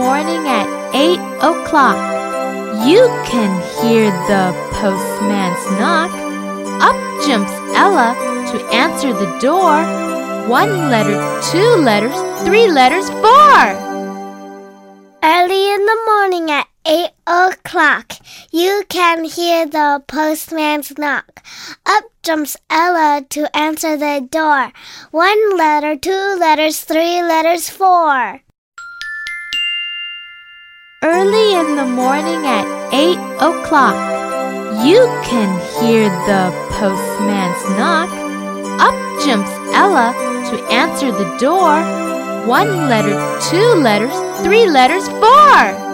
morning at 8 o'clock. You can hear the postman's knock. Up jumps Ella to answer the door. 1 letter, 2 letters, 3 letters, 4. Early in the morning at 8 o'clock, you can hear the postman's knock. Up jumps Ella to answer the door. 1 letter, 2 letters, 3 letters, 4. Early in the morning at 8 o'clock, you can hear the postman's knock. Up jumps Ella to answer the door. 1 letter, 2 letters, 3 letters, 4.